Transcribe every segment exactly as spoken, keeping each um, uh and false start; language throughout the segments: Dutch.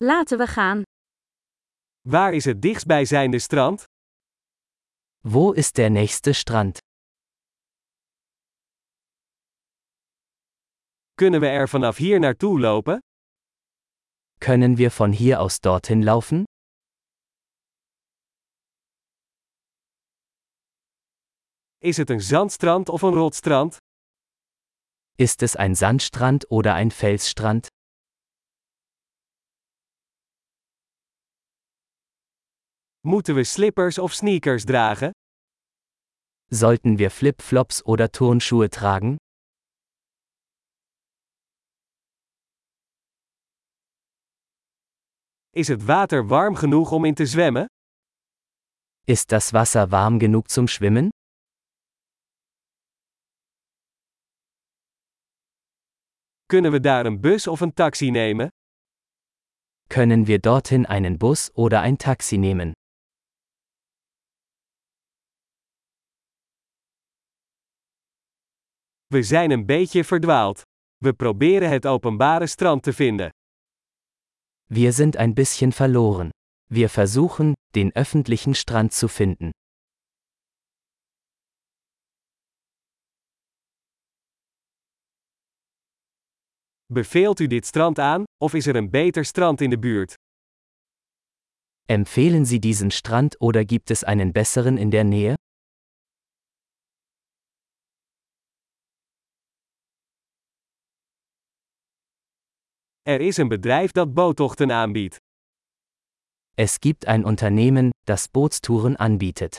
Laten we gaan. Waar is het dichtstbijzijnde strand? Wo ist der nächste Strand? Kunnen we er vanaf hier naartoe lopen? Können wir von hier aus dorthin laufen? Is het een zandstrand of een rotstrand? Ist es ein Sandstrand oder ein Felsstrand? Moeten we slippers of sneakers dragen? Sollten wir Flip-Flops oder Turnschuhe tragen? Is het water warm genoeg om in te zwemmen? Ist das Wasser warm genug zum Schwimmen? Kunnen we daar een bus of een taxi nemen? Können wir dorthin einen Bus oder ein Taxi nehmen? We zijn een beetje verdwaald. We proberen het openbare strand te vinden. Wir sind ein bisschen verloren. Wir versuchen, den öffentlichen Strand zu finden. Beveelt u dit strand aan, of is er een beter strand in de buurt? Empfehlen Sie diesen Strand oder gibt es einen besseren in der Nähe? Er is een bedrijf dat boottochten aanbiedt. Es gibt ein Unternehmen, das Bootstouren anbietet.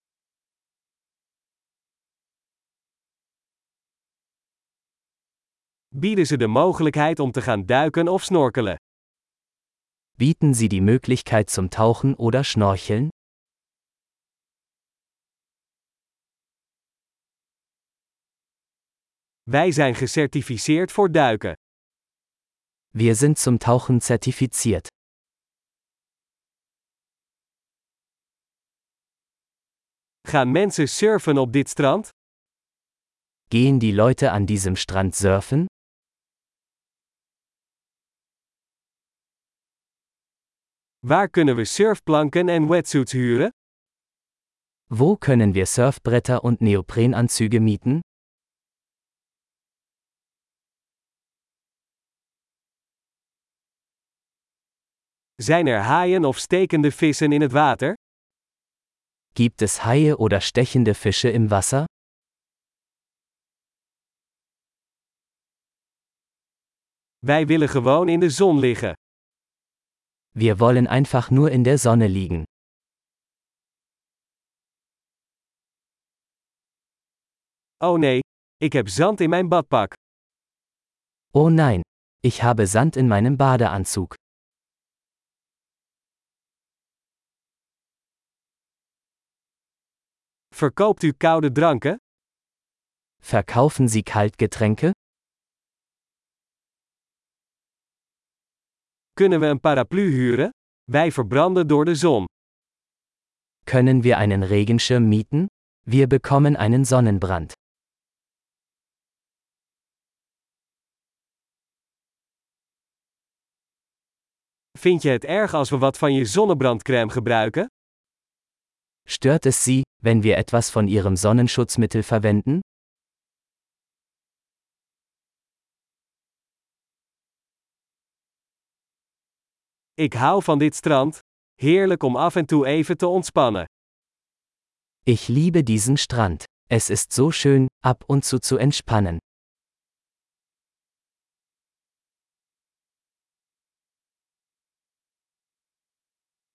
Bieden ze de mogelijkheid om te gaan duiken of snorkelen? Bieten Sie die Möglichkeit zum Tauchen oder Schnorcheln? Wij zijn gecertificeerd voor duiken. Wir sind zum Tauchen zertifiziert. Gaan mensen surfen op dit strand? Gehen die Leute an diesem Strand surfen? Waar kunnen we surfplanken en wetsuits huren? Wo können wir Surfbretter und Neoprenanzüge mieten? Zijn er haaien of stekende vissen in het water? Gibt es Haie oder stechende Fische im Wasser? Wij willen gewoon in de zon liggen. Wir wollen einfach nur in der Sonne liegen. Oh nee, ik heb zand in mijn badpak. Oh nein, ich habe Sand in meinem Badeanzug. Verkoopt u koude dranken? Verkaufen Sie Kaltgetränke? Kunnen we een paraplu huren? Wij verbranden door de zon. Können wir einen Regenschirm mieten? Wir bekommen einen Sonnenbrand. Vind je het erg als we wat van je zonnebrandcrème gebruiken? Stört es Sie, wenn wir etwas von Ihrem Sonnenschutzmittel verwenden? Ik hou van dit strand. Heerlijk om af en toe even te ontspannen. Ich liebe diesen Strand. Es ist so schön, ab und zu zu entspannen.